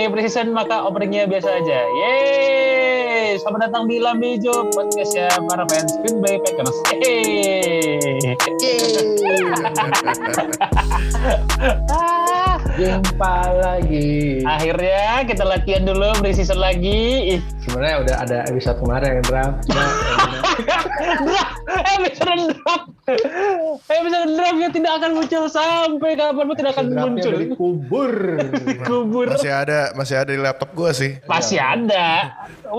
preseason maka openingnya biasa aja. Yeay, selamat datang di Lambe Hijau podcast ya para fans Green Bay Packers. Jumpa lagi. Akhirnya kita latihan dulu preseason lagi. Sebenarnya udah ada episode kemarin yang draft. Episode draftnya tidak akan muncul sampai kapanpun tidak akan muncul. Dikubur. Masih ada di laptop gua sih. Masih ada.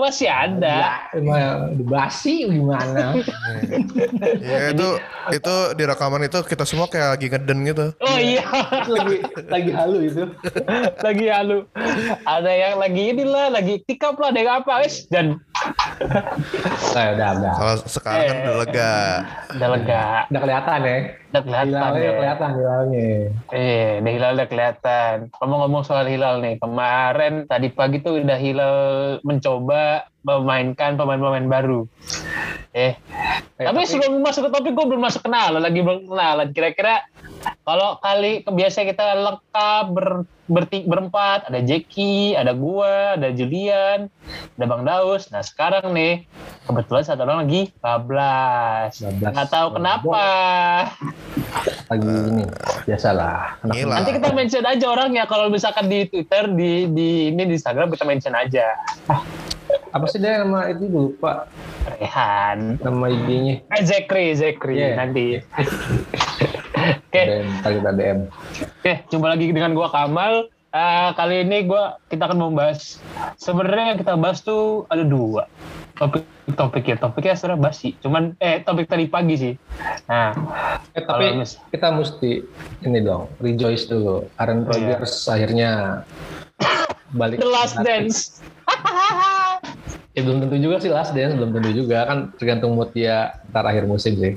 Emang basi gimana? Ya itu di rekaman itu kita semua kayak lagi ngeden gitu. Oh iya. lagi halu itu. Lagi halu. Ada yang lagi inilah, lagi tikap lah, ada yang apa guys dan. Udah. Kalau sekarang kan udah lega. Udah lega. Udah kelihatan ya. Udah kelihatan. Hilalnya. Hilal udah kelihatan. Ngomong-ngomong soal hilal nih, kemarin tadi pagi tuh udah hilal mencoba memainkan pemain-pemain baru. Tapi sebelum masuk ke topik gue belum masuk kenalan. Kira-kira kalau kali biasa kita lengkap berempat, ada Jeki, ada gua, ada Julian, ada Bang Daus. Nah sekarang nih kebetulan satu orang lagi bablas. Nggak tahu kenapa. Lagi ini biasalah. Nanti kita mention aja orangnya kalau misalkan di Twitter, di Instagram kita mention aja. Apa sih dia nama itu lupa? Rehan. Nama IG-nya. Zekri nanti. Oke. Kita DM. Oke, jumpa lagi dengan gua Kamal. Kali ini kita akan membahas. Sebenarnya yang kita bahas tuh ada dua topiknya sebenarnya basi. Cuman topik tadi pagi sih. Nah, tapi kita mesti ini dong, rejoice dulu. Aaron Rodgers akhirnya balik. The Last Dance. Ya belum tentu juga sih Last Dance, belum tentu juga kan tergantung mood dia ntar akhir musim sih.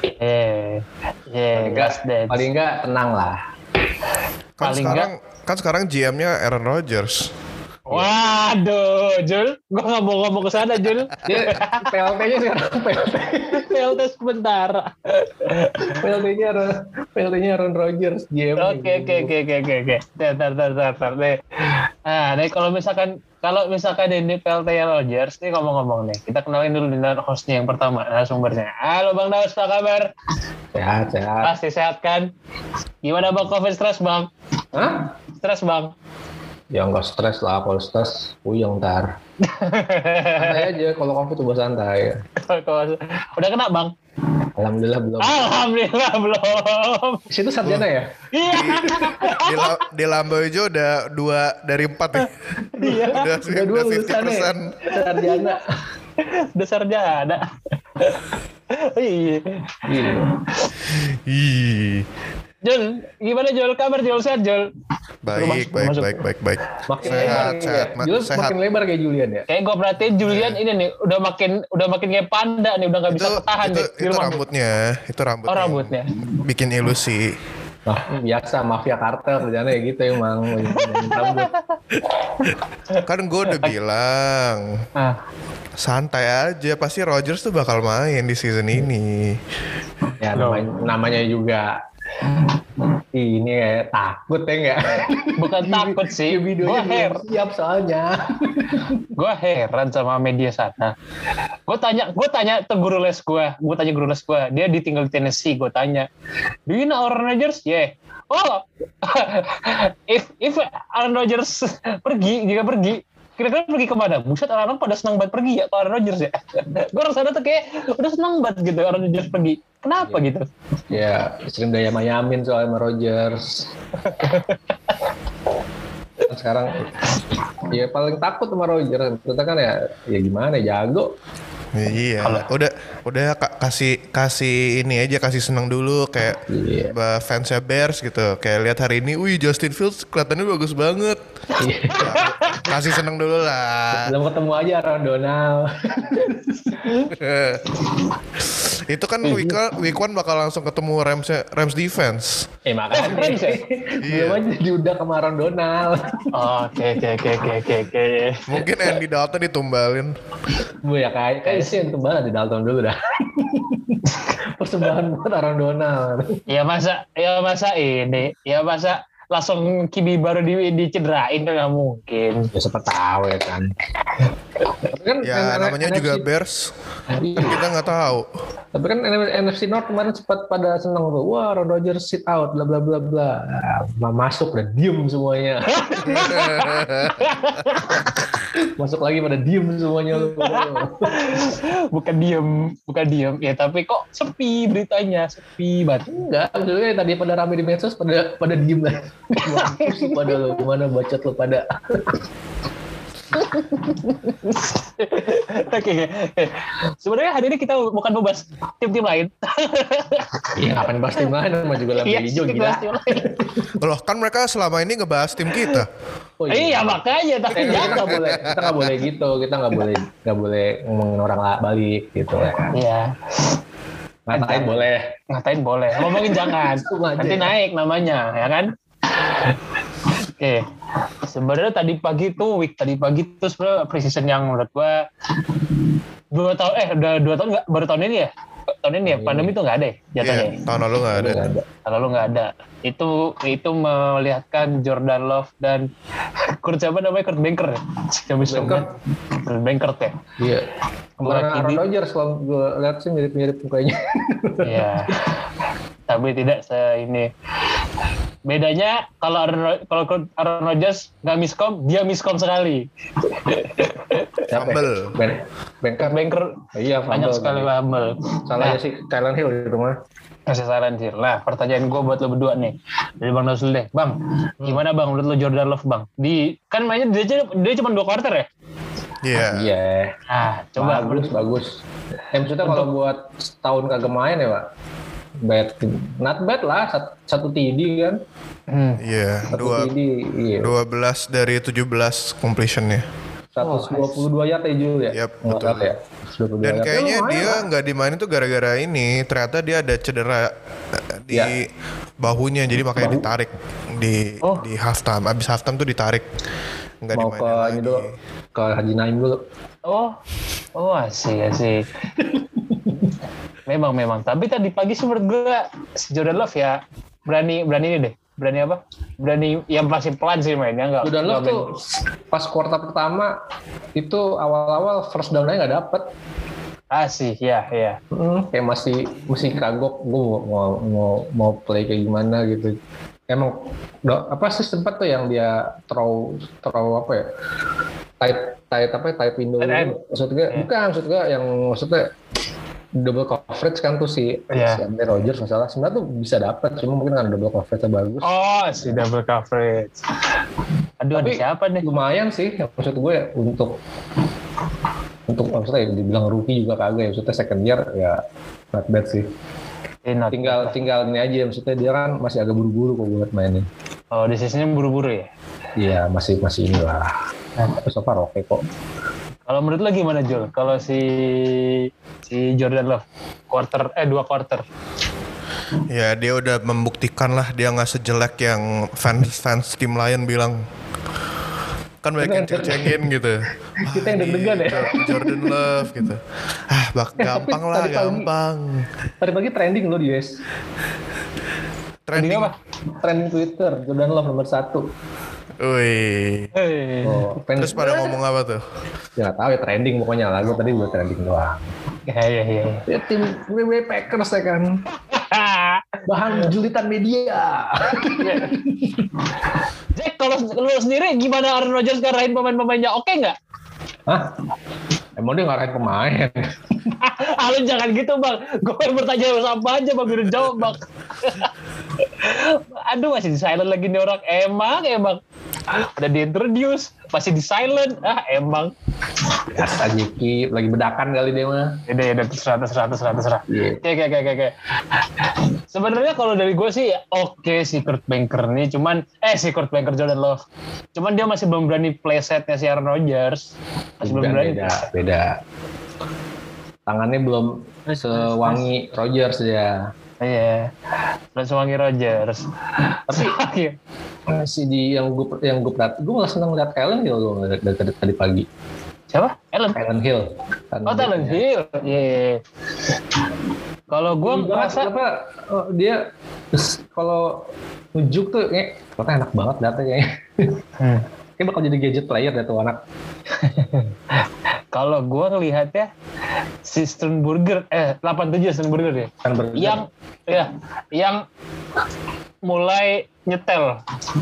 Last Dance. Paling enggak tenang lah. Kan sekarang GM-nya Aaron Rodgers. Waduh, Jul, gue nggak mau ngomong ke sana, Jul. PLT-nya sekarang PLT sebentar. PLT-nya Aaron Rodgers GM. Oke. Tar. Nah, nih kalau misalkan ini PLT Rodgers nih ngomong-ngomong nih, kita kenalin dulu dengan hostnya yang pertama, narasumbernya. Halo Bang Daus, apa kabar? Sehat. Pasti sehat kan? Gimana Bang, COVID stres Bang? Hah? Stres Bang? Ya nggak stres lah, kalau stres puyeng ntar. Santai aja, kalau COVID tuh santai. Udah kena Bang? Alhamdulillah belum. Situ sarjana ya? Iya. Di Lambe Hijau udah 2 dari 4 ya. Iya. Udah 50%. Sarjana. Udah sarjana. Iya. Jul, gimana Jul? Kabar Jul? Sehat Jul? Baik. Makin sehat. Makin lebar kayak Julian ya. Kayak gue perhatiin Julian ini nih udah makin kayak panda nih, udah nggak bisa bertahan nih di rumah. Itu rambutnya. Oh rambutnya. Bikin ilusi. Biasa mafia kartel kerjanya kayak gitu emang. Rambut. Kan gue udah bilang. Santai aja, pasti Rodgers tuh bakal main di season ini. Ya namanya juga ini kayak takut ya nggak? Bukan takut sih. Videonya belum siap soalnya. Gue heran sama media sana. Gue tanya ke guru les gue. Dia ditinggal di Tennessee. Gue tanya, do you know Aaron Rodgers? Yeah. Oh, if Aaron Rodgers jika pergi, kira-kira pergi kemana? Buset, orang-orang pada senang banget pergi ya ke Aaron Rodgers ya. Gue rasanya tuh kayak udah senang banget gitu Aaron Rodgers pergi. Kenapa gitu? Ya, sering daya mayamin soal sama Rodgers. Sekarang ya paling takut sama Rodgers. Ternyata kan ya gimana, jago. Iya, udah kasih ini aja, kasih senang dulu kayak fansnya Bears gitu. Kayak lihat hari ini, Justin Fields kelihatannya bagus banget. Kasih senang dulu lah. Belum ketemu aja Aaron Donald. Itu kan week 1 bakal langsung ketemu Rams defense. Makanya belum aja diudak sama Aaron Donald. Oke. Mungkin Andy Dalton ditumbalin. Bu ya kayak sih yang tumbal di Dalton dulu dah. Persembahan buat Aaron Donald. Ya masa langsung QB baru dicederain kan nggak mungkin. Ya siapa tahu ya kan. Kan ya namanya NFC, juga Bears. Kan kita nggak tahu. Tapi kan NFC North kemarin sempat pada senang tuh. Wah, Aaron Rodgers sit out, bla bla bla bla. Masuk udah diem semuanya. Masuk lagi pada diem semuanya. bukan diem. Ya tapi kok sepi beritanya, sepi banget. Enggak, maksudnya tadi pada rame di medsos pada diem lah. Pada lo gimana bacot lo pada. Oke. Sebenarnya hari ini kita bukan membahas tim-tim lain. Iya, ngapain bahas tim lain sama juga lagi hijau gila. Loh kan mereka selama ini ngebahas tim kita. Oh, iya makanya tapi kita nggak boleh gitu, kita nggak boleh ngomongin orang balik gitu ya. Iya. Ngatain boleh, ngomongin jangan. Nanti naik namanya, ya kan? Oke. Sebenarnya tadi pagi tuh sebenarnya preseason yang menurut gua 2 tahun udah 2 tahun nggak, baru tahun ini ya? Tahun ini ya, pandemi tuh nggak ada ya jatuhnya. Iya, tahun lalu nggak ada. Tahun lalu nggak ada. Itu melihatkan Jordan Love dan Kurt Banker. Kurt Banker ya. Iya. Kemarin Aaron Rodgers kalau gue lihat sih mirip-mirip mukanya. Iya. Tapi tidak ini. Bedanya kalau Aaron Rodgers nggak miskom, dia miskom sekali. Fumble. Banker. Iya, banyak sekali fumble. Salahnya sih Kylan Hill di rumah. Masih saran sih. Nah, pertanyaan gue buat lo berdua nih. Dari Bang Nasul deh. Bang, gimana Bang menurut lo Jordan Love, Bang? Kan mainnya dia cuma 2 quarter ya? Iya. Iya. Ah, coba bagus. Maksudnya kalau buat setahun kagak main ya, Pak. Not bad lah, 1 TD kan. Iya, 12 dari 17 completion-nya. 122 yard ya Jul ya? Yap, betul. Ya. Dan kayaknya dia nggak dimainin tuh gara-gara ini. Ternyata dia ada cedera di bahunya, jadi makanya ditarik di halftime. Abis halftime tuh ditarik. Nggak mau dimainin ke lagi. ini dulu, ke Haji Naim dulu. Oh asik. Memang. Tapi tadi pagi sih menurut gue si Jordan Love ya berani ini deh. Berani apa? Berani yang masih pelan sih mainnya enggak. Jordan Love tuh pas kuartal pertama itu awal-awal first down-nya nggak dapet. Sih, ya. Kayak masih kagok gue mau play kayak gimana gitu. Emang apa sih sempat tuh yang dia throw apa ya? Tight window. Maksudnya maksudnya double coverage kan tuh si Aaron Rodgers masalah sebenarnya tuh bisa dapat, cuma mungkin kan double coverage-nya bagus. Si double coverage. Aduh, tapi siapa nih? Lumayan sih maksud gue untuk maksudnya dibilang rookie juga kagak ya, maksudnya second year ya not bad sih. Tinggal ini aja, maksudnya dia kan masih agak buru-buru kok buat mainin. Oh, decision-nya buru-buru ya? Iya, masih inilah. Tapi so far oke kok. Kalau menurut lo gimana Jul? Kalau si Jordan Love 2 quarter. Ya dia udah membuktikan lah dia nggak sejelek yang fans tim lain bilang. Kan banyak yang ceng-cengin gitu. Kita yang deg-degan ya. Jordan Love gitu. Gampang. Tadi pagi trending lo di US. Trending apa? Trending Twitter Jordan Love nomor 1. Wih. Terus pada ngomong apa tuh? Ya nggak tahu ya, trending pokoknya lah. Gue tadi buat trending doang. Iya. Ya tim Green Bay Packers ya kan. Bahan julitan media. Jack, kalau lu sendiri gimana Aaron Rodgers ngarahin pemain-pemainnya? Oke nggak? Hah? Emang dia ngarahin pemain? Lu jangan gitu Bang. Gue bertanya apa aja Bang, udah jawab Bang. Aduh, masih di silent lagi nih orang. Emang. Udah diintroduce, masih di silent. Emang. Biasa Jeki, lagi bedakan kali dia mah. Ya terserah. Oke. Sebenarnya kalau dari gue sih oke si Kurt Banker nih, si Kurt Banker Jordan Love. Cuman dia masih belum berani play setnya si Aaron Rodgers. Masih belum berani. Beda. Tangannya belum sewangi Rodgers ya. Iya, belum sewangi Rodgers. Tapi masih di yang gue perhati, gue malah senang lihat Kylan Hill dari tadi pagi. Siapa? Kylan Hill. Kylan Hill. Iya. Kalau gue merasa dia Terus kalau ngejuk tuh ternyata enak banget datanya. Kayak bakal jadi gadget player deh tuh anak. Kalau gue ngelihatnya si Sternburger 87 Sternburger ya. Yang mulai nyetel.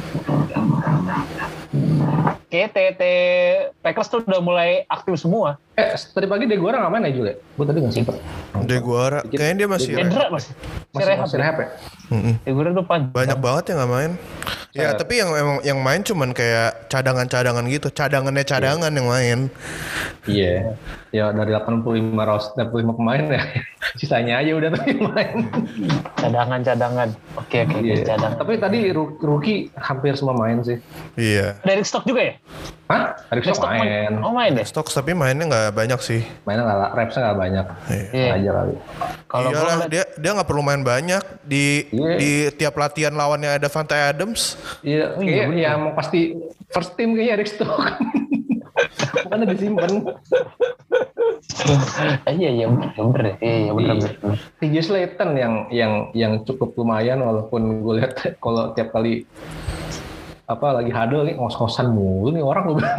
Kayak TT Packers tuh udah mulai aktif semua. Tadi pagi Deguara nggak main ya Jule? Gue tadi nggak sempet. Deguara, kayaknya dia masih rehab ya? Deguara tuh banyak banget yang nggak main. Ya tapi yang main cuman kayak cadangan gitu, cadangan yang main. Iya. Ya dari 85 pemain ya, sisanya aja udah tuh yang main. Cadangan. Oke, cadangan. Tapi tadi rookie hampir semua main sih. Iya. Derek Stock juga ya? Hah? Derek Stock main. Main deh. Stock tapi mainnya nggak banyak sih. Mainnya repsnya nggak banyak. Iya. Aja kali. Kalau dia nggak perlu main banyak di tiap latihan lawannya ada Davante Adams. Iya, kayaknya mau pasti first team kayaknya Derek Stock. Bukannya disimpan. Iya bener. TJ Slayton yang cukup lumayan walaupun gue lihat kalau tiap kali lagi huddle nih ngos-ngosan mulu nih orang gue.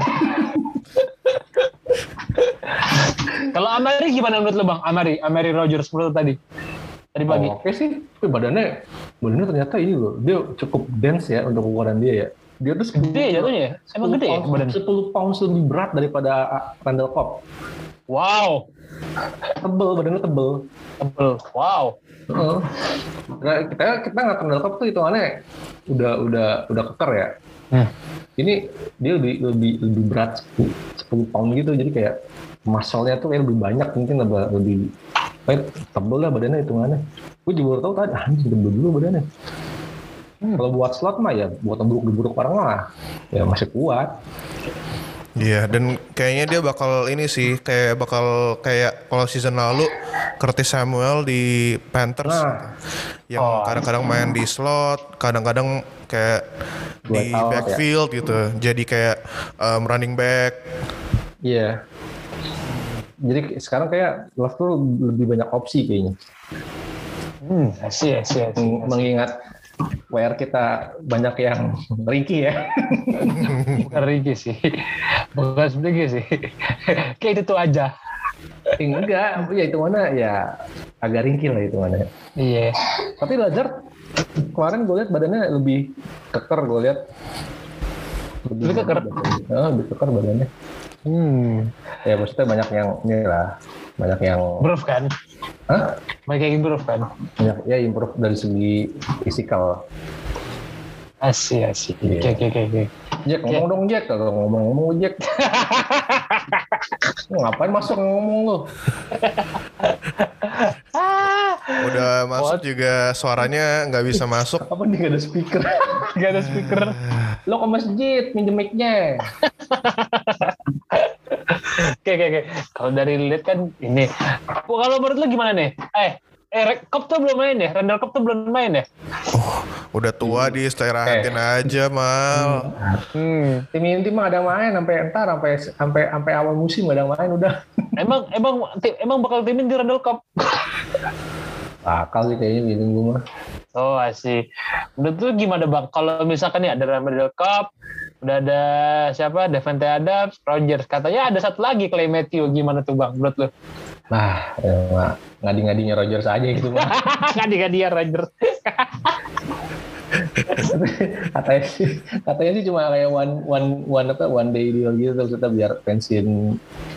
Kalau Amari gimana menurut lo Bang? Amari Rogers menurut tadi pagi. Oke sih, tapi badannya ternyata ini loh, dia cukup dense ya untuk ukuran dia ya. Dia tuh gede jatuhnya ya? Emang gede ya badannya? 10 pounds lebih berat daripada Randall Cobb. Wow. Badannya tebel. Wow. Nah, kita nggak Randall Cobb tuh hitungannya udah keker ya. Ini dia lebih berat 10 pound gitu, jadi kayak muscle-nya tuh kayak lebih banyak, mungkin lebih tebel lah badannya hitungannya. Gue juga baru tahu tadi, anjing tebel dulu badannya. Kalau buat slot mah ya buat buruk orang lah, ya masih kuat. Iya, dan kayaknya dia bakal ini sih, kayak kalau season lalu Curtis Samuel di Panthers, yang kadang-kadang main di slot, kadang-kadang kayak di backfield ya. Gitu, jadi kayak running back. Iya. Jadi sekarang kayak Love tuh lebih banyak opsi kayaknya. Mengingat WR kita banyak yang ringkih ya. Bukan ringkih sih. Bukan sedikit sih. Kayak itu tuh aja. Enggak, ya itu mana ya agak ringkih lah itu mana. Iya. Tapi Lazard kemarin gue lihat badannya lebih keker, gue lihat. Lebih keker? Lebih keker badannya. Ya maksudnya banyak yang improve kan? Hah? Banyak yang improve kan? Banyak ya improve dari segi fisikal. Asik. Oke. Jack, ngomong dong Jack, kalau ngomong Jack. Ngapain masuk ngomong lu? Udah masuk juga suaranya nggak bisa masuk. Apa nih, gak ada speaker? Lo ke masjid minjem mic-nya. Oke. Kalau dari lihat kan ini. Kalau menurut lo gimana nih? Cobb tuh belum main ya? Randall Cobb tuh belum main ya? Udah tua di istirahatin aja Mal. Tim inti mah ada main sampai awal musim ada main udah. Emang bakal timin di Randall Cobb? Bakal sih kayaknya gitu gue mah. Oh asik. Menurut lu gimana Bang? Kalau misalkan nih ada Randall Cobb, udah ada siapa? Davante Adams, Rogers. Katanya ada satu lagi Clay Matthew. Gimana tuh Bang menurut lu? Nah, ngadi-ngadinya Rogers aja gitu Bang. Ngadi-ngadinya Rogers. katanya sih cuma kayak one day deal gitu, terus kita biar pensiun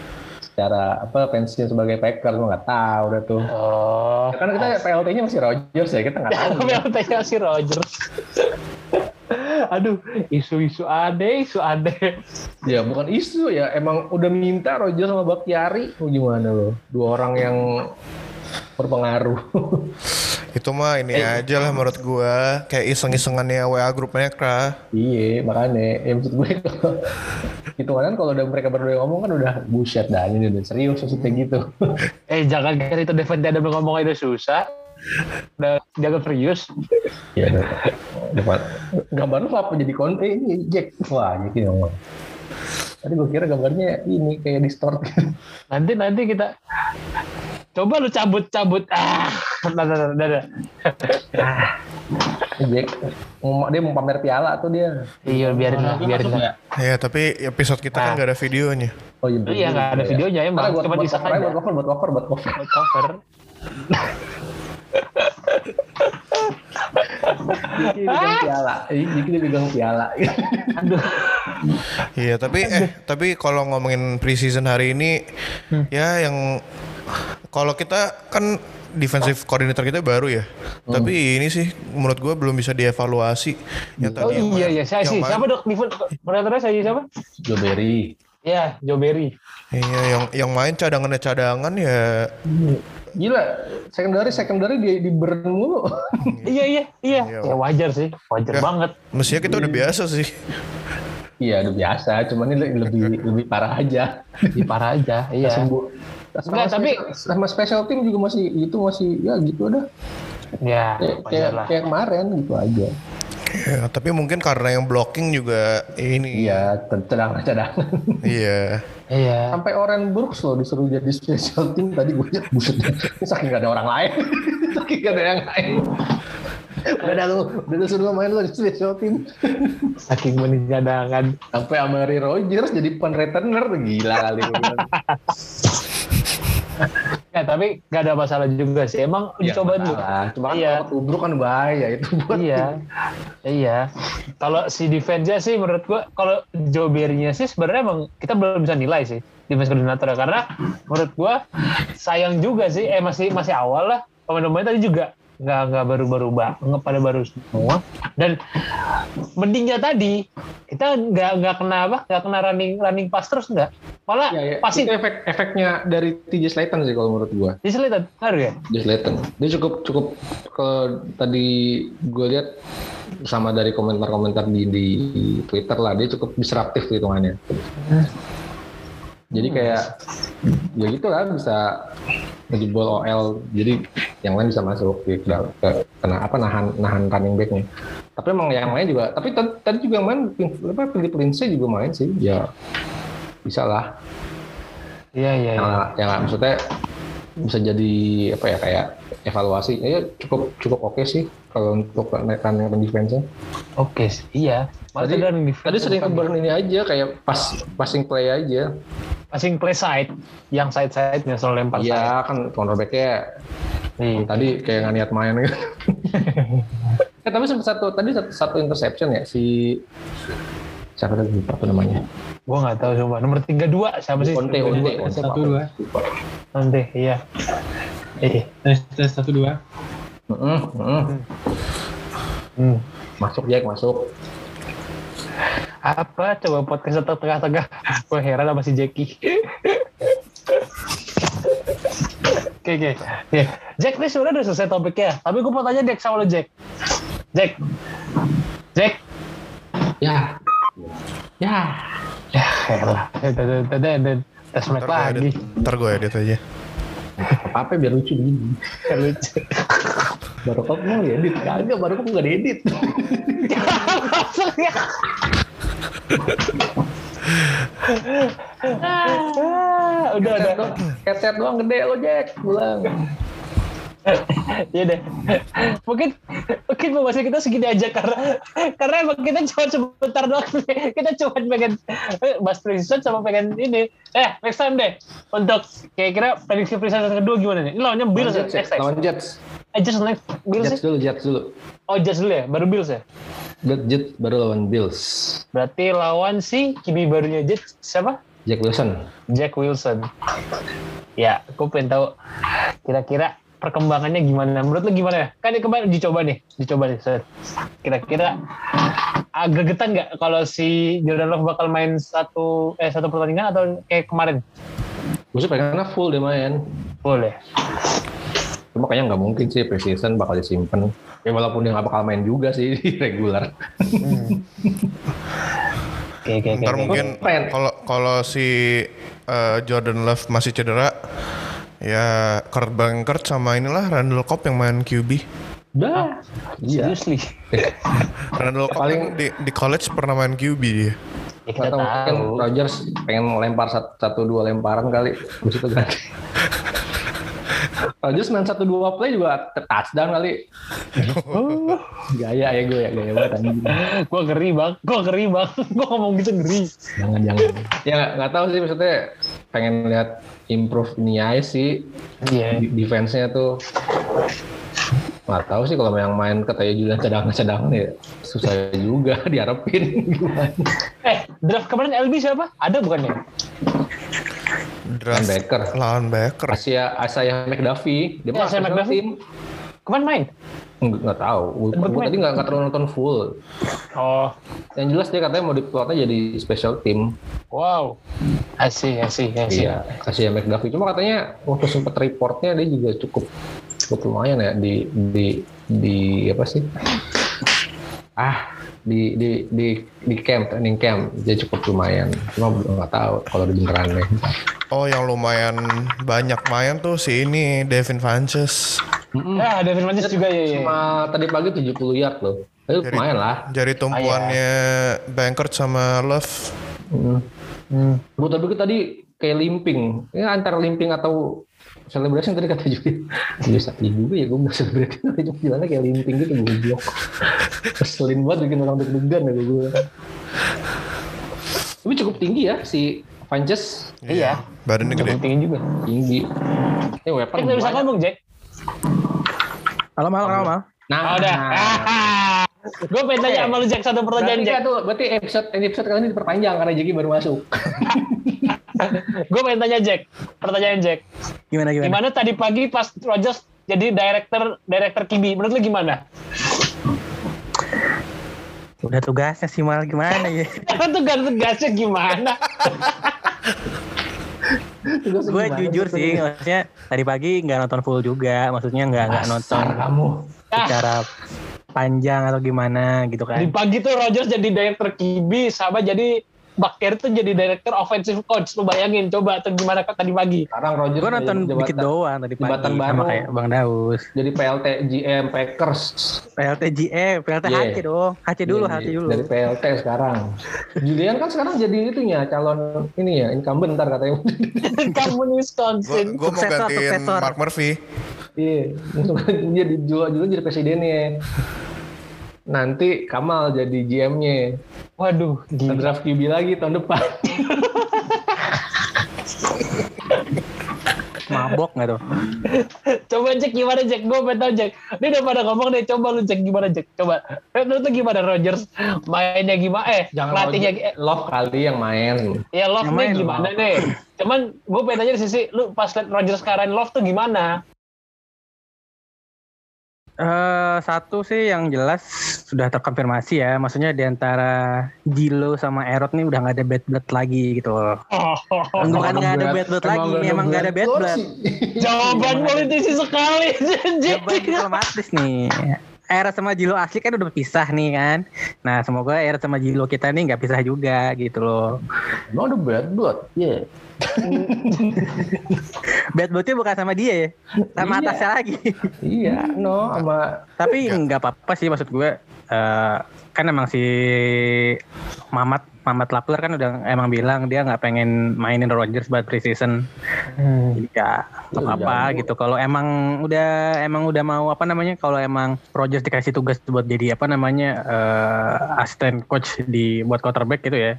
sebagai Packers, gue nggak tahu udah tuh. Karena kita PLT-nya masih Rogers ya, kita nggak tahu. PLT-nya masih Rogers. Aduh, isu aneh. Ya bukan isu ya, emang udah minta Rogers sama Bakhtiari, gimana lo? Dua orang yang berpengaruh. Itu mah ini aja lah menurut gue, kayak iseng-isengannya WA grup mereka. Iya, makanya. Ya maksud gue hitungan kalau udah mereka berdua ngomong kan udah bullshit dah, ini udah serius maksudnya gitu. Jangan kan itu Davante Adams ngomong udah susah. Udah jangan serius. Iya, depan. Gambarnya apa jadi konten ini Jack. Wah, gitu ngomong. Tadi gue kira gambarnya ini kayak distort. Nanti Coba lu cabut. Dah. Jack, dia mau pamer piala tuh dia. Iya, biarin lah. Ya, tapi episode kita kan nggak ada videonya. Oh iya, nggak ada videonya emang. Cuma buat cover. Buat cover. Jadi dia pegang piala. Aduh. Iya, tapi kalau ngomongin preseason hari ini, ya yang kalau kita kan defensive coordinator kita baru ya. Tapi ini sih menurut gue belum bisa dievaluasi. Siapa dok? Koordinatornya saya siapa? Joe Barry. Iya, Joe Barry. Iya, yang main cadangan ya. Gila, secondary di burn mulu. Iya. Ya wajar sih, banget. Mestinya kita udah biasa sih. Iya, udah biasa. Cuman ini lebih parah aja. Iya. Sama special team juga masih ya gitu dah. Ya, kayak kemarin gitu aja. Ya, tapi mungkin karena yang blocking juga ini. Iya, cadangan. Iya. Sampai Oren Brooks loh disuruh jadi special team tadi gue lihat buset. Saking gak ada orang lain. Udah suruh main lo di special team. Saking manis cadangan. Sampai Amari Rogers jadi punt returner, gila kali gue bilang. Ya tapi gak ada masalah juga sih. Emang dicoba dulu. Cuma kalau tubruk kan bahaya itu buat. Iya. Kalau si defense-nya sih menurut gua, kalau Joe Barry-nya sih sebenarnya emang kita belum bisa nilai sih defense koordinator ya, karena menurut gua sayang juga sih. Masih awal lah. Pemain-pemain tadi juga nggak baru pada baru semua, dan mendingnya tadi kita nggak kena running pass terus, nggak malah pasti efeknya dari TJ Slaton sih kalau menurut gua. TJ Slaton ngaruh ya? TJ Slaton dia cukup kalau tadi gue lihat sama dari komentar di Twitter lah, dia cukup disruptif hitungannya. Jadi kayak ya gitu lah, bisa ngejebol OL, jadi yang lain bisa masuk nahan running back-nya. Tapi emang yang lain juga, tapi tadi juga yang main Philip Lindsay juga main sih, ya bisa lah. Iya. Yang maksudnya bisa jadi apa ya, kayak evaluasi ya cukup oke sih kalau untuk running defense-nya. Oke sih, iya. Tadi sering keburn ini aja, kayak passing play aja. Passing play side, yang side-nya soal lempar side. Iya kan, cornerback-nya tadi kayak nggak niat main gitu. Tapi satu interception ya, siapa tadi apa namanya? Gua nggak tahu coba. Nomor 32 siapa sih? Onte 1-2. Onte, iya. Tes 1-2. Masuk Jack, masuk. Apa coba podcast tengah-tengah? Gue heran sama si Jackie. Oke. Jack ini sebenarnya udah selesai topiknya, tapi gue mau tanya Jack sama lo Jack. Jack. Ya. Heran. Dan tes mic lagi. Ntar gue edit aja. Apa biar lucu begini. Lucu. Baru kok mau edit, kagak, baru kok nggak diedit. Udah. Headset doang gede lo Jack, pulang. Iya deh. Mungkin pembahasan kita segini aja karena emang kita cuma sebentar doang. Kita cuma pengen bahas preseason sama pengen ini. Next time deh untuk kira-kira prediksi preseason kedua gimana nih? Ini lawannya Bills ya? Lawan Jets. Just next Bills. Jets dulu. Oh, Jets dulu ya, baru Bills ya? Jets baru lawan Bills. Berarti lawan si QB barunya Jets siapa? Jack Wilson. Ya, aku pengen tahu kira-kira perkembangannya gimana. Menurut lu gimana ya? Kan ini kemarin dicoba nih. Kira-kira agak getan nggak kalau si Jordan Love bakal main satu pertandingan atau kayak kemarin? Gue sih pengennya full dia main. Full ya? Cuma kayaknya nggak mungkin sih preseason bakal disimpan. Ya walaupun dia nggak bakal main juga sih di regular. Oke. Ntar mungkin kalau si Jordan Love masih cedera, ya Kurt Benkert sama inilah Randall Cobb yang main QB. Dah. Seriously. Randall Cobb paling di college pernah main QB dia. Ya, kita tahu. Mungkin Rodgers pengen lempar 1-2 lemparan kali. Terus itu ganti. Rodgers main 1-2 play juga touchdown kali. Gaya ya gue ya, gaya banget anjing. Gue ngeri bang. Gue ngomong gitu ngeri. Jangan. Ya nggak tahu sih, maksudnya pengen lihat improve ini aja sih. Iya. Defense-nya tuh nggak tahu sih kalau yang main katanya Julian cadangan ya susah juga diharapin. Draft kemarin LB siapa? Ada bukannya? Draft lawan Baker. Isaiah McDuffie. Dia Isaiah McDuffie. tim. Kemarin main? Nggak tahu. Gue tadi nggak terlalu nonton full. Oh. Yang jelas dia katanya mau diplotnya jadi special team. Wow. Asih. Iya, Isaiah McDuffie. Cuma katanya waktu sempet reportnya dia juga cukup lumayan ya di apa sih? Di training camp dia cukup lumayan. Cuma nggak tahu kalau di beneran nih. Oh, yang lumayan banyak main tuh si ini Devin Funchess. Ya, Devin Funchess juga ya. Cuma tadi pagi 70 yard loh. Tapi lumayan lah. Jari tumpuannya Bankert sama Love. Gue tadi kayak limping. Ya antara limping atau celebration tadi kata juga. Bisa juga ya gue nggak celebration. Cuma bilangnya kayak limping gitu goblok. Keselin banget bikin orang deg-degan ya gue. Tapi cukup tinggi ya si Funchess. Iya. Badannya gede. Tinggi juga. Tinggi. Weapon. Kita bisa ngomong Jack. Halo. Nah, udah. Gue pengen tanya sama lu Jack satu pertanyaan Jack. Berarti episode kali ini diperpanjang karena Jackie baru masuk. Gue pengen tanya Jack. Pertanyaan Jack. Gimana? Tadi pagi pas Rodgers jadi director QB, menurut lu gimana? Udah tugasnya sih malah gimana ya? Tugasnya gimana? Gue jujur sih, maksudnya tadi pagi nggak nonton full juga, maksudnya nggak nonton kamu secara panjang atau gimana gitu kan. Di pagi tuh Rodgers jadi director QB sama jadi Baker tuh jadi director offensive coach. Lu bayangin coba tuh gimana tadi pagi. Sekarang Rodgers gue nonton dikit doang tadi pagi sama kayak Bang Daus. Jadi PLT GM Packers. PLT HC dong. HC dulu. Dari PLT sekarang. Julian kan sekarang jadi itunya calon ini ya incumbent ntar katanya. Incumbent Wisconsin. Gue mau gantiin Mark Murphy. Iya, dia dijual jadi presidennya. Nanti Kamal jadi GM-nya. Waduh, draft QB lagi tahun depan. Mabok nggak tuh? Coba Jack gimana Jack? Gue pengen tau Jack. Dia udah pada ngomong deh. Coba lu Jack gimana Jack? Coba. Menurut lu gimana Rodgers? Mainnya gimana? Latihnya Love kali yang main. Ya Love-nya gimana nih? Cuman gue pengen tanya di sisi lu pas liat Rodgers sekarang Love tuh gimana? Satu sih yang jelas sudah terkonfirmasi ya, maksudnya di antara Gilo sama Erod nih udah nggak ada bad blood lagi gitu loh. Bukan nggak ada bad blood lagi, memang nggak ada bad blood. Jawaban politisi sekali. Jawaban diplomatis nih. Erod sama Gilo asli kan udah pisah nih kan. Nah semoga Erod sama Gilo kita nih nggak pisah juga gitu loh. Emang ada bad blood? Iya. Bad bloodnya bukan sama dia ya, sama atasnya lagi. Iya, sama. Tapi nggak apa-apa sih maksud gue. Kan emang si Mamat Lapler kan udah emang bilang dia nggak pengen mainin Rodgers buat preseason. Jadi ya apa gitu. Kalau emang udah mau apa namanya, kalau emang Rodgers dikasih tugas buat jadi apa namanya asisten coach buat quarterback gitu ya.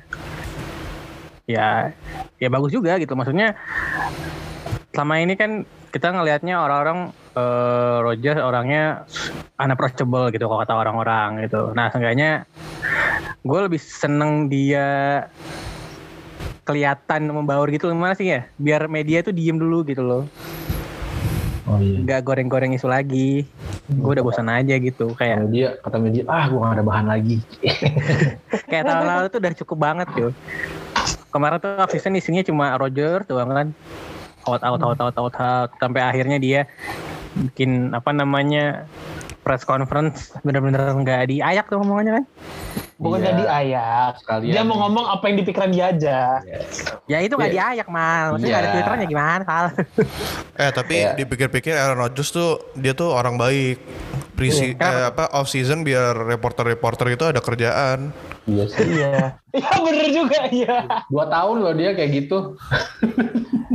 Ya bagus juga gitu, maksudnya selama ini kan kita ngelihatnya orang-orang Rodgers orangnya unapproachable gitu kalau kata orang-orang gitu. Nah seenggaknya gue lebih seneng dia kelihatan membaur gitu, gimana sih ya, biar media tuh diem dulu gitu loh. Oh iya. Gak goreng-goreng isu lagi. Gue udah bosan aja gitu kayak. Kata media, gue gak ada bahan lagi. Kayak tahun lalu tuh udah cukup banget yo. Kemarin tuh off-season isinya cuma Rodgers doang kan. Out sampai akhirnya dia bikin apa namanya press conference bener-bener nggak diayak tuh ngomongannya kan. Bukan nggak diayak. Dia mau ngomong apa yang dipikiran dia aja. Ya itu nggak diayak mal. Maksudnya nggak ada twitternya gimana Sal? Tapi dipikir-pikir Aaron Rodgers tuh dia tuh orang baik. Off season biar reporter itu ada kerjaan. Iya sih. Iya bener juga ya. 2 tahun loh dia kayak gitu.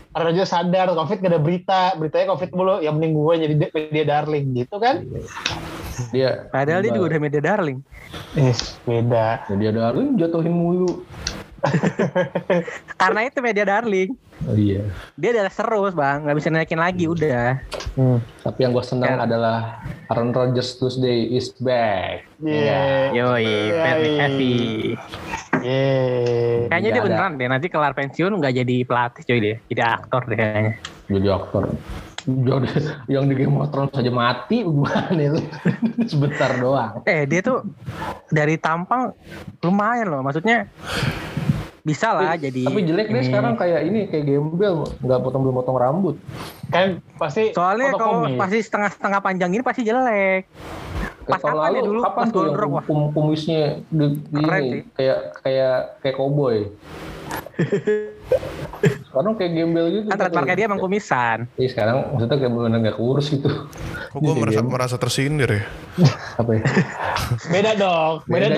Rodgers sadar COVID gak ada beritanya COVID mulu, yang mending gue jadi media darling gitu kan. Dia Padahal dia juga udah media darling. Beda. Media darling jatuhin mulu. Karena itu media darling. Oh iya. Dia udah terus bang, nggak bisa naikin lagi udah. Tapi yang gue senang adalah Aaron Rodgers Tuesday is back. Iya. Yoi, Pat McAfee. Kayaknya dia beneran deh, nanti kelar pensiun nggak jadi pelatih coy dia, jadi aktor deh kayaknya. Jadi aktor. Yang di Game of Thrones saja mati gimana itu? Sebentar doang. Dia tuh dari tampang lumayan loh, maksudnya bisa lah jadi. Tapi jelek deh sekarang kayak gembel, nggak potong rambut. Kan pasti. Soalnya kalau pasti setengah panjang ini pasti jelek. Pas kapan ya dulu? Kapan pas tuh yang kumisnya ini kayak cowboy. Sekarang kayak gembel gitu. Kan trademarknya dia emang kumisan. Iya sekarang maksudnya kayak benar-benar nggak kurus gitu. Kok gue merasa tersindir ya? Apa ya? Beda dong.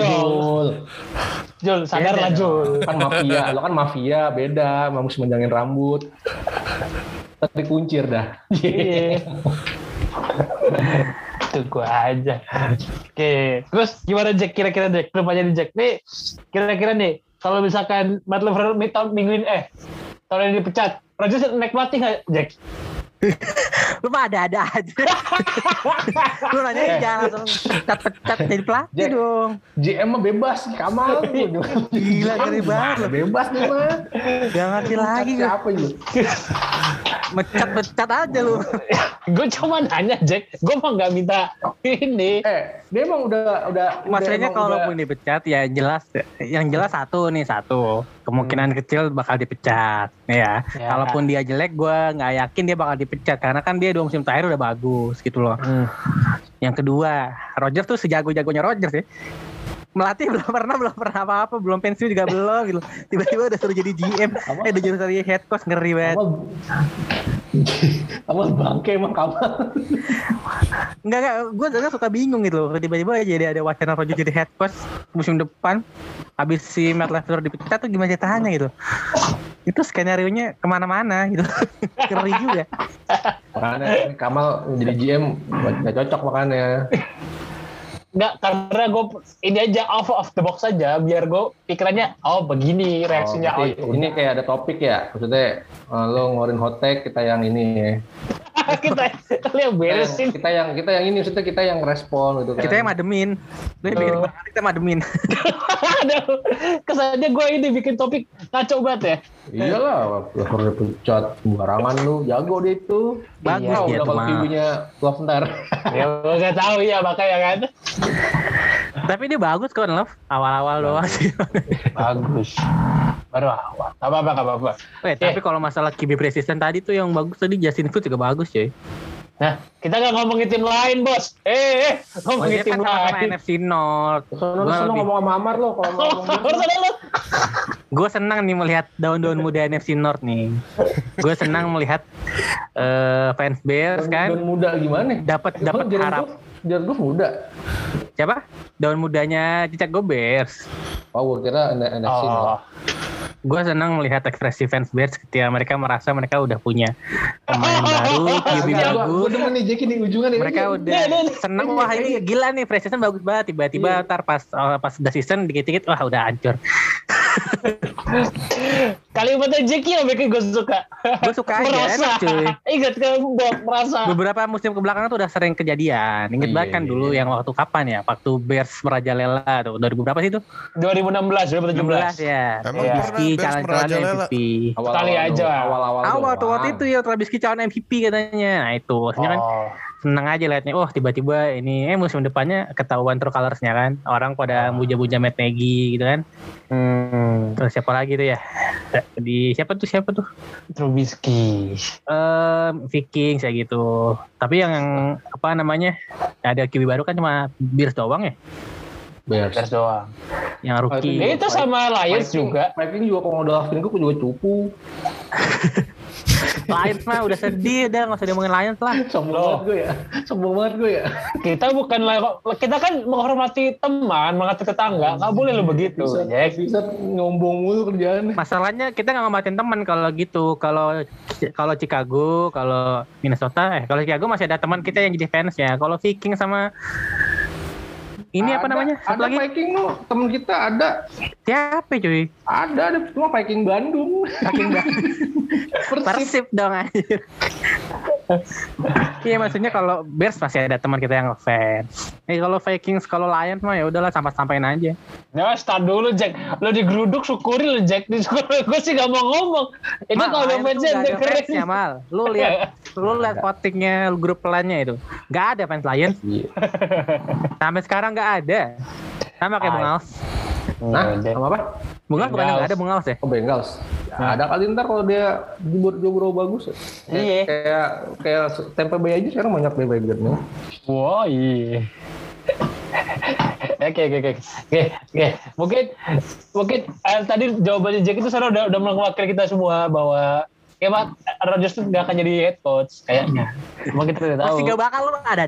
Jul, sadar lah Jul. Lo kan mafia, beda. Mau menjangin rambut. Tapi kuncir dah. Iya. Itu gue aja. Oke. Terus gimana Jack? Kira-kira Jack? Belum aja nih Jack. Nih, kira-kira nih. Kalau misalkan Matt LaFleur tahun ini dipecat, Rodgers naik pelatih nggak, Jack? Lu mah ada-ada aja. Lu nanya jangan langsung pecat jadi pelatih Jack, dong. GM mah bebas, Kamal. Gila ngeri banget loh. Bebas nih mah. Gak ngerti lagi gue. Siapa itu? Mecat aja lu. Gue cuma nanya Jack, gue mah nggak minta ini. Dia emang udah. Maksudnya kalau pun dipecat ya jelas, yang jelas satu kemungkinan kecil bakal dipecat, ya. Kalaupun dia jelek, gue nggak yakin dia bakal dipecat karena kan dia 2 musim terakhir udah bagus gitu loh. Yang kedua, Rodgers tuh sejago-jagonya Rodgers ya. Melatih belum pernah apa-apa, belum pensiun juga belum gitu. Tiba-tiba udah suruh jadi GM, udah jadi head coach, ngeri banget. Kamal bangke emang Kamal. Enggak, gue suka bingung gitu loh. Tiba-tiba jadi ada wacana Rodgers jadi head coach musim depan. Habis si Matt LaFleur dipecat tuh gimana ceritanya gitu. Itu skenario-nya kemana-mana gitu. Ngeri juga. Makanya Kamal jadi GM gak cocok makanya. Enggak, karena gue ini aja off the box aja biar gue pikirannya begini reaksinya. Ini kayak ada topik ya, maksudnya lo ngeluarin hot take, kita yang ini ya. kita yang beresin. Kita yang ini, maksudnya kita yang respon gitu kan. Kita yang mademin. Lo yang bikin banget, kita mademin. Aduh, kesannya gue ini bikin topik ngaco banget ya. Iyalah, udah pecat sembarangan lu, jago deh itu. Bagus dia udah tuh kalau QB-nya Love ntar. Ya gak tahu ya makanya kan. Tapi dia bagus kok Love, awal-awal doang sih. Bagus. Baru awal. Apa-apa. Tapi kalau masalah QB precision tadi tuh yang bagus tadi Justin Fields juga bagus cuy. Nah, kita gak ngomongin tim lain, Bos. Ngomongin tim kan sama lain. NFC North. Soalnya ngomong sama Amar lo kalau ngomong. Gue senang nih melihat daun-daun muda NFC North nih. Gue senang melihat fans Bears kan. Daun muda gimana? Dapat harap. Jared Goff muda. Siapa? Daun mudanya Chicago Bears. Oh, gue kira NFC North. Gue senang melihat ekspresi fans Bears ketika mereka merasa mereka udah punya pemain baru, QB bagus. Gue demen nih Jackie di ujungan nih. Mereka udah senang, wah ini gila nih, preseason bagus banget. Tiba-tiba ntar pas udah season dikit-dikit, wah udah hancur. Kalimatnya Jackie yang bikin gue suka. Gue suka aja, enak cuy. Ingat kan buat merasa. Beberapa musim kebelakang tuh udah sering kejadian. Ingat banget kan dulu yang waktu kapan ya? Waktu Bears merajalela tuh. 2000 berapa sih itu? 2016, 2017 ya. Emang Trubisky calon MVP. Sekali aja. Awal tuh waktu itu ya Trubisky calon MVP katanya. Nah itu, maksudnya kan seneng aja liatnya. Oh tiba-tiba ini musim depannya ketahuan true colours-nya kan. Orang pada muja-muja Matt Nagy gitu kan. Terus siapa lagi tuh ya? Siapa tuh? Trubisky. Vikings kayak gitu. Tapi yang apa namanya? Ada QB baru kan cuma Bears doang ya? Bears doang. Yang rookie. Itu sama Lions juga. Vikings juga kalau udah draftin gue juga cupu. Lions mah udah sedih, udah nggak usah diomongin Lions lah. Sombong banget gue ya. Kita kan menghormati teman, menghormati tetangga. Nggak boleh lo begitu. Bisa nyombong mulu kerjaan. Masalahnya kita nggak ngamatin teman kalau gitu. Kalau Chicago, kalau Minnesota, kalau Chicago masih ada teman kita yang jadi fans ya. Kalau Viking sama ini apa namanya? Ada lagi? Viking lo, temen kita ada. Siapa cuy? Ada cuma Viking Bandung. Persib dong anjir. Iya maksudnya kalau Bears masih ada teman kita yang fans. Kalau Vikings, kalau Lions mah ya udahlah sampain aja. Nah, start dulu Jack. Lo digeruduk syukuri lo Jack. Gue sih gak mau ngomong. Ini kalau udah fansnya dengerin. Ya Mal. Lu lihat votingnya grup pelannya itu. Gak ada fans Lions. Sampai sekarang gak ada. Sama kayak Bung Als. Nah, sama apa? Bung Als bukannya gak ada Bung Als ya? Oh Bengals. Ya, ada kali ntar kalau dia jobro bagus. Iya. Kayak Tampa Bay aja sekarang banyak bandwagonnya. Wah iya. Oke. Mungkin tadi jawabannya Jack itu sekarang udah mewakili kita semua bahwa Pak Rodgers tuh gak akan jadi head coach kayaknya. Cuma kita tidak tahu. Masih gak bakal lu ada.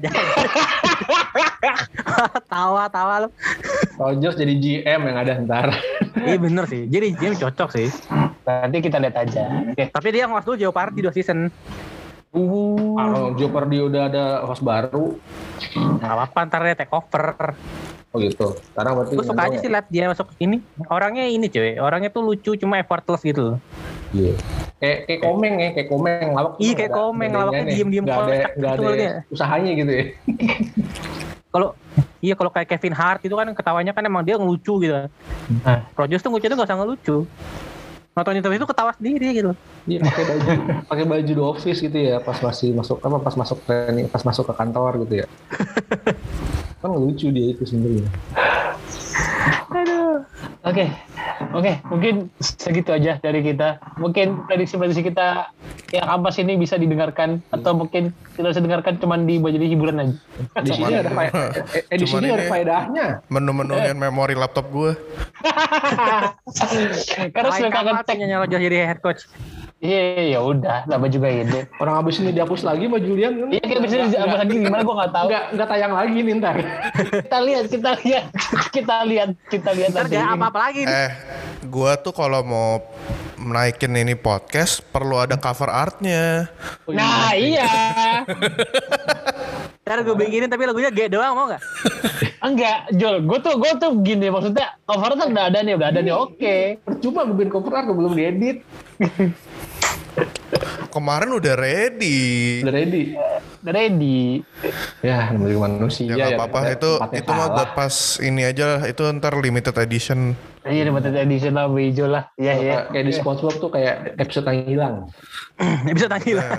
Tawa lu. Rodgers jadi GM yang ada ntar. Iya bener sih. Jadi GM cocok sih. Nanti kita lihat aja. Okay. Tapi dia ngewas dulu Joe Party 2 season. Kalau Joe Party udah ada host baru. Gak apa-apa ntar dia take over. Oh gitu. Sekarang berarti gue suka aja sih liat dia masuk ini. Orangnya ini cuy. Orangnya tuh lucu cuma effortless gitu. Iya. Kayak komeng lawak. Iya kayak komeng lawaknya diem-diem. Gak ada usahanya gitu ya. Kalau kayak Kevin Hart itu kan ketawanya kan emang dia ngelucu gitu. Rodgers tuh ngelucu tuh gak usah ngelucu. Nonton itu ketawa sendiri gitu. Iya pakai baju The Office gitu ya pas masuk training, pas masuk ke kantor gitu ya. Kan lucu dia itu sendiri. Aduh. Oke, mungkin segitu aja dari kita. Mungkin prediksi kita yang ampas ini bisa didengarkan atau mungkin tidak bisa didengarkan cuman jadi hiburan aja. Di sini ada edisinya ada faedahnya. Menu-menuin memori laptop gue. Karena sudah kangen tag Rodgers jadi head coach. Iya, ya udah, nama juga ini. Orang habis ini dihapus lagi sama Julian kan? Iya, kita bisa dihapus lagi gimana gue nggak tahu. Nggak tayang lagi nih ntar. kita lihat. Ntar gak apa-apa lagi. Gua tuh kalau mau naikin ini podcast perlu ada cover artnya. Nah iya. Ntar gue bikinin tapi lagunya G doang mau nggak? Enggak, Jol. Gue tuh gini maksudnya cover art udah ada nih oke. Percuma gue bikin cover art belum diedit. Kemarin udah ready. Ya namanya manusia ya. Gak apa-apa itu mah buat pas ini aja lah. Itu ntar limited edition. Iya limited edition lah hijau lah. Iya. Kayak di SpongeBob tuh kayak episode yang hilang. Episode yang hilang.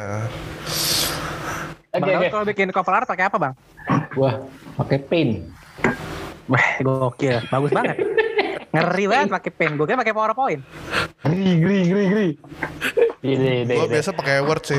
Oke. Kalau bikin cover art pakai apa bang? Wah pakai paint. Wah gokil, bagus banget. Ngeri banget pakai pen. Gue kira pakai PowerPoint. Gri. Gue biasa pakai Word sih.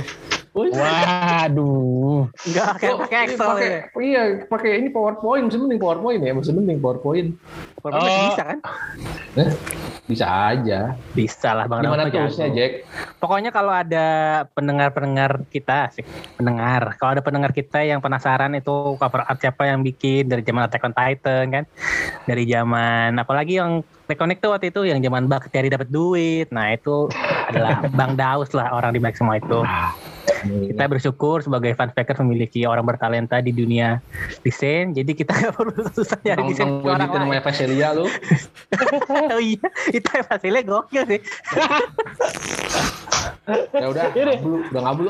Waduh. Enggak pakai Excel. Iya, pakai ini PowerPoint. Mending PowerPoint ya. Mending PowerPoint. PowerPoint bisa kan? Bisa aja. Bisa lah Bang. Gimana tulisnya Jack? Pokoknya kalau ada pendengar kita sih. Kalau ada pendengar kita yang penasaran itu cover art siapa yang bikin dari zaman Attack on Titan kan. Dari zaman apalagi yang Reconnect tuh waktu itu yang zaman bakteri dapat duit. Nah itu adalah Bang Daus lah orang di balik semua itu. Kita bersyukur sebagai fans Packers memiliki orang bertalenta di dunia desain. Jadi kita gak perlu susah nyari desain orang lain. Namanya Vasilia lu. Oh iya, itu Vasilia gokil sih. Ya udah ngablu.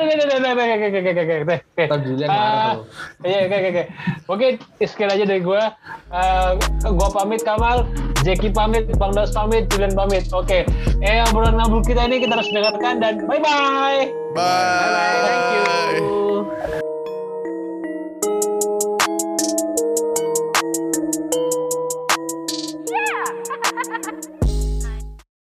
Oke. Mungkin sekian aja dari gue. Gue pamit Kamal, Jeki pamit, Bang Daus pamit, Julian pamit. Oke. Obrolan ngablu kita ini kita harus dengarkan dan bye. Bye.